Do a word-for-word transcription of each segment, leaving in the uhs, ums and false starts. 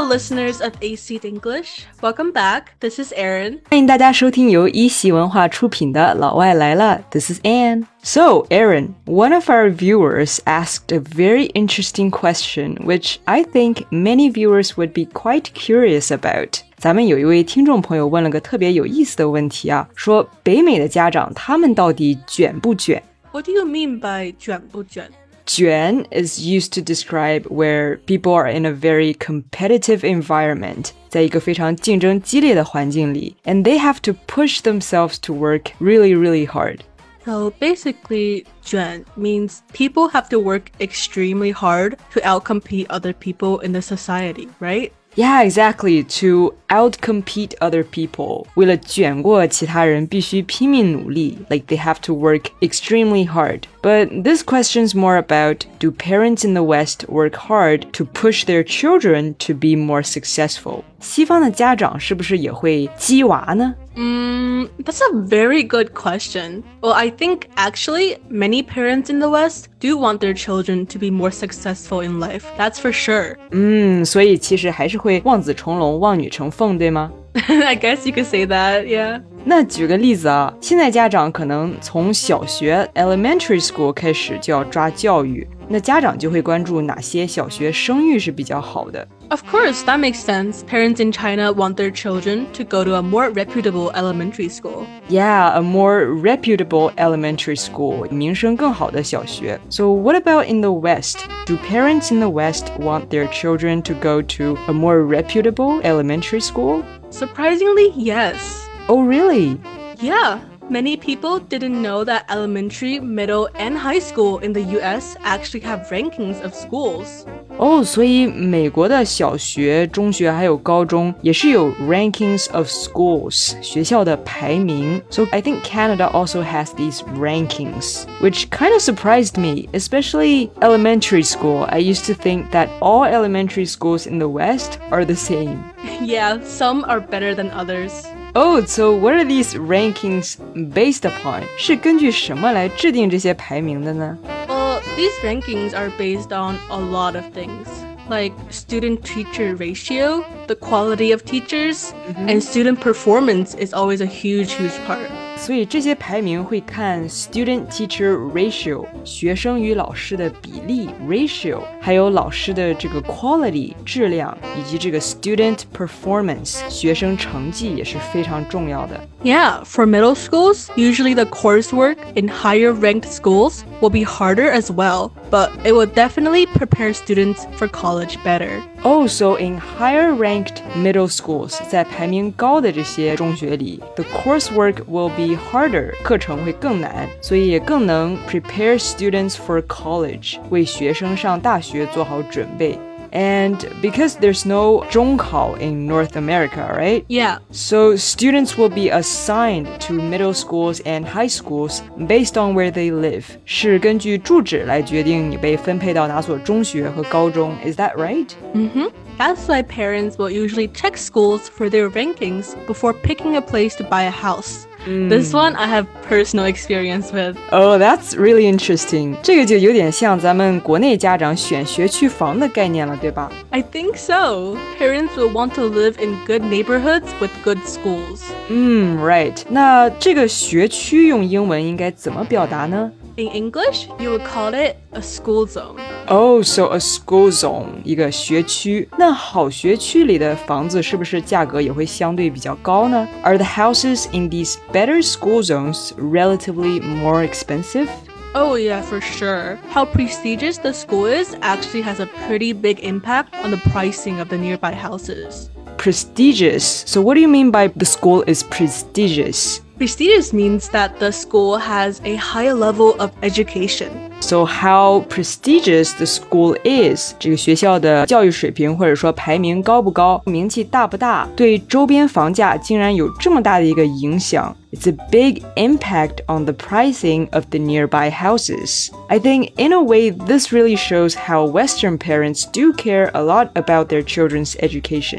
listeners of A Seat English, welcome back. This is Erin. 欢迎大家收听由一席文化出品的老外来了 This is Anne. So, Erin, one of our viewers asked a very interesting question, which I think many viewers would be quite curious about. 咱们有一位听众朋友问了个特别有意思的问题啊，说北美的家长他们到底卷不卷？ What do you mean by 卷不卷？ 卷 is used to describe where people are in a very competitive environment, 在一个非常竞争激烈的环境里 and they have to push themselves to work really, really hard. So basically, 卷 means people have to work extremely hard to outcompete other people in the society, right? Yeah, exactly. To outcompete other people. 为了卷过其他人必须拼命努力 Like they have to work extremely hard. But this question's more about, do parents in the West work hard to push their children to be more successful? 西方的家长是不是也会激娃呢？ Mm, that's a very good question. Well, I think actually many parents in the West do want their children to be more successful in life. That's for sure. 嗯，所以其实还是会望子成龙，望女成凤，对吗？ I guess you could say that, yeah. 那举个例子啊，现在家长可能从小学 elementary school 开始就要抓教育，那家长就会关注哪些小学声誉是比较好的。 Of course, that makes sense. Parents in China want their children to go to a more reputable elementary school. Yeah, a more reputable elementary school, 名声更好的小学。So what about in the West? Do parents in the West want their children to go to a more reputable elementary school? Surprisingly, yes. Oh, really? Yeah. Many people didn't know that elementary, middle, and high school in the U S actually have rankings of schools. 哦，所以美国的小学、中学还有高中也是有 rankings of schools 学校的排名。So I think Canada also has these rankings, which kind of surprised me, especially elementary school. I used to think that all elementary schools in the West are the same. Yeah, some are better than others. Oh, so what are these rankings based upon? 是根据什么来制定这些排名的呢？ Well, these rankings are based on a lot of things, like student-teacher ratio, the quality of teachers, mm-hmm. and student performance is always a huge, huge part. 所以这些排名会看 student-teacher ratio 学生与老师的比例 ratio 还有老师的这个 quality 质量以及这个 student performance 学生成绩也是非常重要的。 Yeah, for middle schools, usually the coursework in higher ranked schools will be harder as well, but it will definitely prepare students for college better. Oh, so in higher ranked middle schools 在排名高的这些中学里 the coursework will be harder 课程会更难所以也更能 prepare students for college 为学生上大学做好准备 And because there's no 中考 in North America, right? Yeah. So students will be assigned to middle schools and high schools based on where they live 是根据住址来决定你被分配到哪所中学和高中 Is that right? Mm-hmm. That's why parents will usually check schools for their rankings before picking a place to buy a house. Mm. This one I have personal experience with. Oh, that's really interesting. 这个就有点像咱们国内家长选学区房的概念了，对吧？ I think so. Parents will want to live in good neighborhoods with good schools. 嗯 right. 那这个学区用英文应该怎么表达呢？ In English, you would call it a school zone. Oh, so a school zone, 一个学区。那好学区里的房子是不是价格也会相对比较高呢？ Are the houses in these better school zones relatively more expensive? Oh yeah, for sure. How prestigious the school is actually has a pretty big impact on the pricing of the nearby houses. Prestigious. So what do you mean by the school is prestigious? Prestigious means that the school has a high level of education. So how prestigious the school is, 这个学校的教育水平或者说排名高不高，名气大不大，对周边房价竟然有这么大的一个影响。It's a big impact on the pricing of the nearby houses. I think in a way this really shows how Western parents do care a lot about their children's education.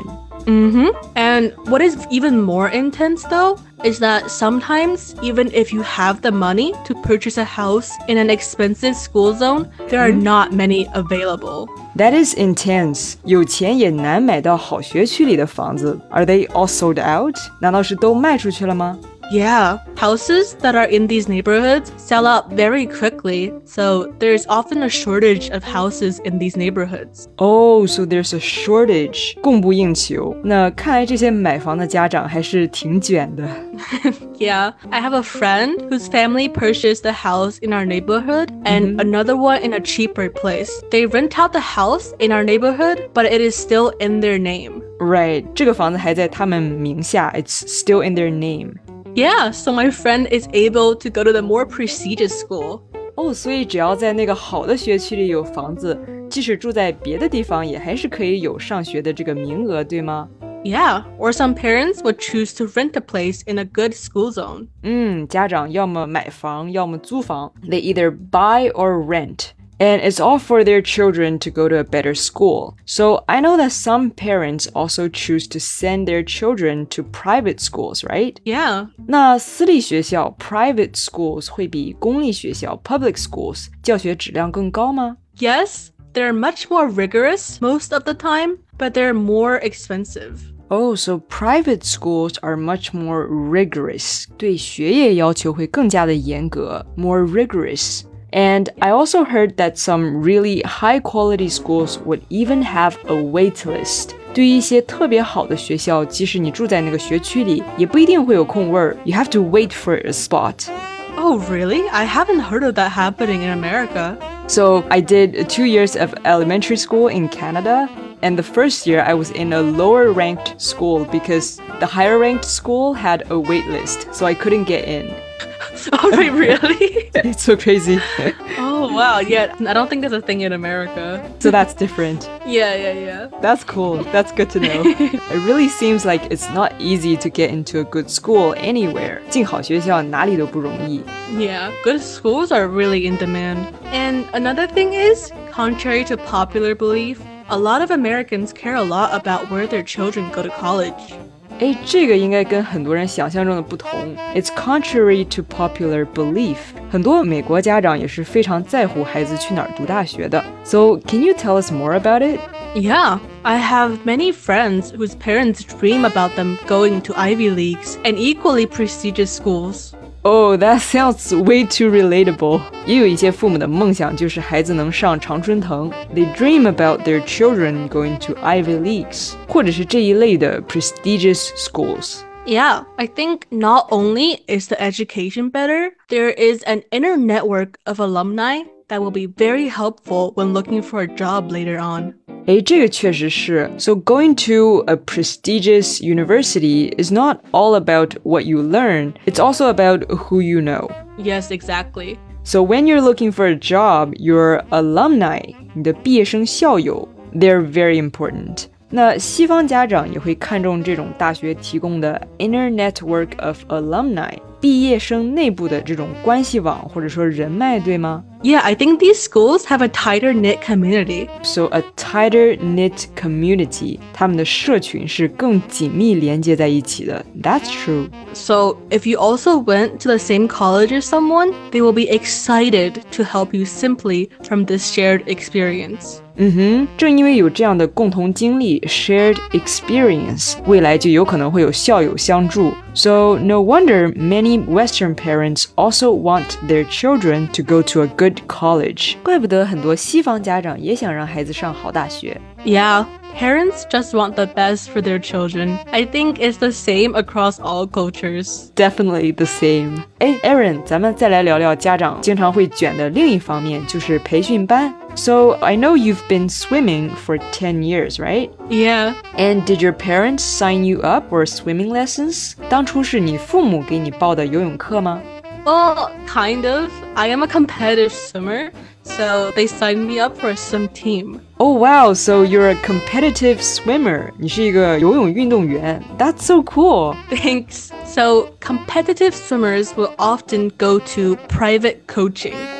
Mm-hmm. And what is even more intense though is that sometimes even if you have the money to purchase a house in an expensive school zone, there are not many available. That is intense. 有钱也难买到好学区里的房子。Are they all sold out? 难道是都卖出去了吗？ Yeah, houses that are in these neighborhoods sell out very quickly, so there's often a shortage of houses in these neighborhoods. Oh, so there's a shortage. 供不应求。那看来这些买房的家长还是挺卷的。 Yeah, I have a friend whose family purchased a house in our neighborhood and another one in a cheaper place. They rent out the house in our neighborhood, but it is still in their name. Right, 这个房子还在他们名下。It's still in their name. Yeah, so my friend is able to go to the more prestigious school. 哦，所以只要在那个好的学区里有房子，即使住在别的地方，也还是可以有上学的这个名额，对吗？ Yeah, or some parents would choose to rent a place in a good school zone. 嗯，家长要么买房，要么租房。They either buy or rent. And it's all for their children to go to a better school. So I know that some parents also choose to send their children to private schools, right? Yeah. 那私立学校 private schools 会比公立学校 public schools 教学质量更高吗？ Yes, they're much more rigorous most of the time, but they're more expensive. Oh, so private schools are much more rigorous. 对学业要求会更加的严格 more rigorous. And I also heard that some really high-quality schools would even have a wait list. 对于一些特别好的学校，即使你住在那个学区里，也不一定会有空位儿。You have to wait for a spot. Oh, really? I haven't heard of that happening in America. So I did two years of elementary school in Canada. And the first year I was in a lower ranked school because the higher ranked school had a wait list, so I couldn't get in. Oh, wait, really? It's so crazy. Oh, wow. Yeah, I don't think there's a thing in America. So that's different. Yeah, yeah, yeah. That's cool. That's good to know. It really seems like it's not easy to get into a good school anywhere. 进好学校哪里都不容易。 Yeah, good schools are really in demand. And another thing is, contrary to popular belief, a lot of Americans care a lot about where their children go to college. 诶，这个应该跟很多人想象中的不同。It's contrary to popular belief. 很多美国家长也是非常在乎孩子去哪儿读大学的。So, can you tell us more about it? Yeah, I have many friends whose parents dream about them going to Ivy Leagues and equally prestigious schools. Oh, that sounds way too relatable. 也有一些父母的梦想就是孩子能上常春藤。They dream about their children going to Ivy Leagues, 或者是这一类的 prestigious schools. Yeah, I think not only is the education better, there is an inner network of alumni that will be very helpful when looking for a job later on. 诶，这个确实是。So going to a prestigious university is not all about what you learn, it's also about who you know. Yes, exactly. So when you're looking for a job, your alumni, 你的毕业生校友, they're very important. 那西方家长也会看重这种大学提供的 inner network of alumni, 毕业生内部的这种关系网或者说人脉，对吗？ Yeah, I think these schools have a tighter knit community. So a tighter knit community, 他们的社群是更紧密连接在一起的。That's true. So if you also went to the same college as someone, they will be excited to help you simply from this shared experience. 嗯哼，正因为有这样的共同经历 shared experience, 未来就有可能会有校友相助。So no wonder many Western parents also want their children to go to a good college. 怪不得很多西方家长也想让孩子上好大学。 Yeah, parents just want the best for their children. I think it's the same across all cultures. Definitely the same. 哎 Aaron, 咱们再来聊聊家长经常会卷的另一方面，就是培训班。So I know you've been swimming for ten years, right? Yeah. And did your parents sign you up for swimming lessons? 当初是你父母给你报的游泳课吗？ Well, kind of. I am a competitive swimmer, so they signed me up for a swim team. Oh wow, so you're a competitive swimmer. 你是一个游泳运动员. That's so cool. Thanks. So, competitive swimmers will often go to private coaching,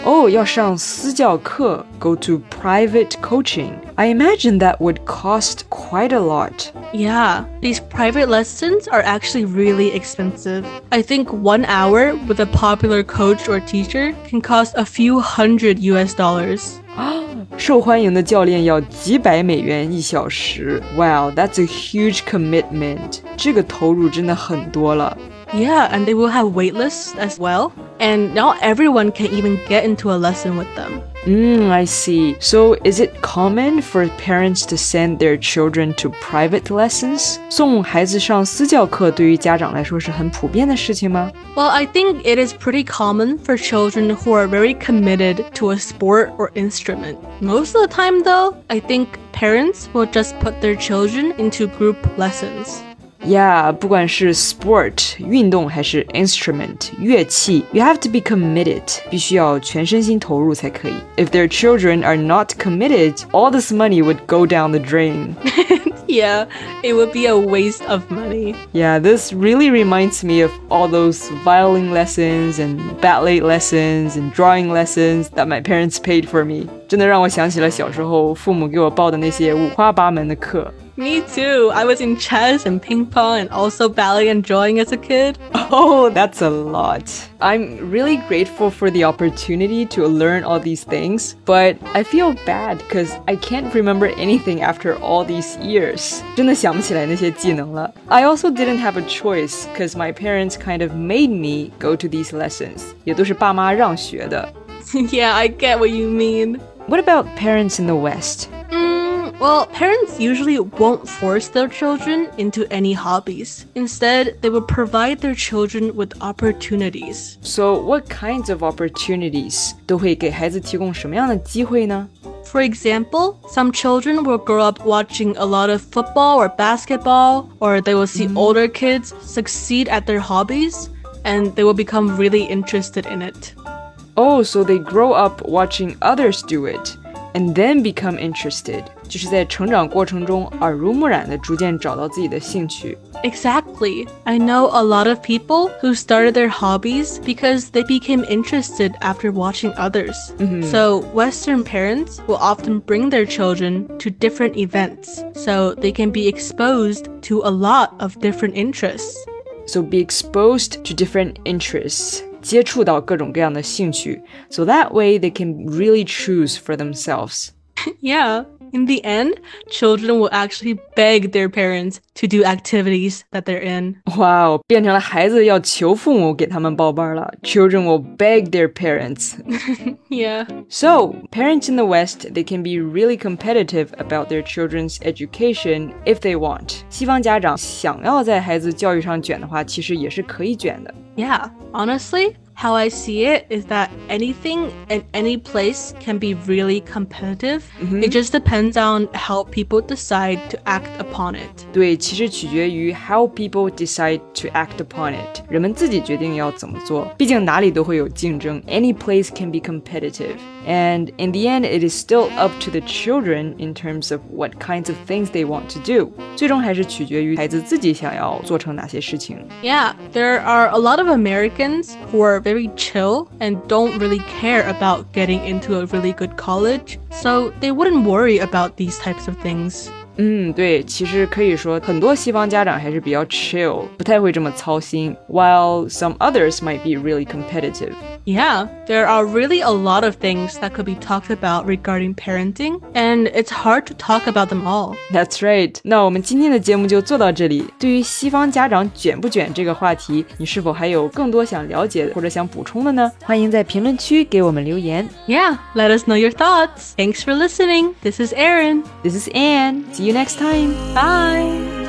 哦，要上私教课 go to private coaching. I imagine that would cost quite a lot. Yeah, these private lessons are actually really expensive. I think one hour with a popular coach or teacher can cost a few hundred U S dollars. 受欢迎的教练要几百美元一小时 Wow, that's a huge commitment. 这个投入真的很多了。 Yeah, and they will have waitlists as well. And not everyone can even get into a lesson with them. Mm, I see. So is it common for parents to send their children to private lessons? 送孩子上私教课对于家长来说是很普遍的事情吗？ Well, I think it is pretty common for children who are very committed to a sport or instrument. Most of the time, though, I think parents will just put their children into group lessons. Yeah, 不管是 sport 运动还是 instrument 乐器 you have to be committed 必须要全身心投入才可以 If their children are not committed, all this money would go down the drain. Yeah, it would be a waste of money. Yeah, this really reminds me of all those violin lessons and ballet lessons and drawing lessons that my parents paid for me. 真的让我想起了小时候父母给我报的那些五花八门的课。 Me too. I was in chess and ping pong and also ballet and drawing as a kid. Oh, that's a lot. I'm really grateful for the opportunity to learn all these things, but I feel bad because I can't remember anything after all these years. 真的想不起来那些技能了。I also didn't have a choice because my parents kind of made me go to these lessons. 也都是爸妈让学的。 Yeah, I get what you mean. What about parents in the West? Well, parents usually won't force their children into any hobbies. Instead, they will provide their children with opportunities. So, what kinds of opportunities 都会给孩子提供什么样的机会呢？ For example, some children will grow up watching a lot of football or basketball, or they will see mm-hmm. older kids succeed at their hobbies, and they will become really interested in it. Oh, so they grow up watching others do it. And then become interested. 就是在成长过程中耳濡目染地逐渐找到自己的兴趣。 Exactly. I know a lot of people who started their hobbies because they became interested after watching others. Mm-hmm. So Western parents will often bring their children to different events so they can be exposed to a lot of different interests. So be exposed to different interests. 接触到各种各样的兴趣 so that way they can really choose for themselves. Yeah, in the end, children will actually beg their parents to do activities that they're in. Wow, 变成了孩子要求父母给他们报班了 Children will beg their parents. Yeah. So, parents in the West, they can be really competitive about their children's education if they want. 西方家长想要在孩子教育上卷的话，其实也是可以卷的。 Yeah, honestly, how I see it is that anything and any place can be really competitive. Mm-hmm. It just depends on how people decide to act upon it. 对，其实取决于 how people decide to act upon it. 人们自己决定要怎么做。毕竟哪里都会有竞争。Any place can be competitive. And in the end, it is still up to the children in terms of what kinds of things they want to do. 最终还是取决于孩子自己想要做成哪些事情。 Yeah, there are a lot of Americans who are very chill and don't really care about getting into a really good college, so they wouldn't worry about these types of things. 嗯，对，其实可以说很多西方家长还是比较 chill， 不太会这么操心 while some others might be really competitive. Yeah, there are really a lot of things that could be talked about regarding parenting, and it's hard to talk about them all. That's right. 那我们今天的节目就做到这里。对于西方家长卷不卷这个话题，你是否还有更多想了解或者想补充的呢？欢迎在评论区给我们留言。 Yeah, let us know your thoughts. Thanks for listening. This is Erin. This is Anne. See you next time. Bye.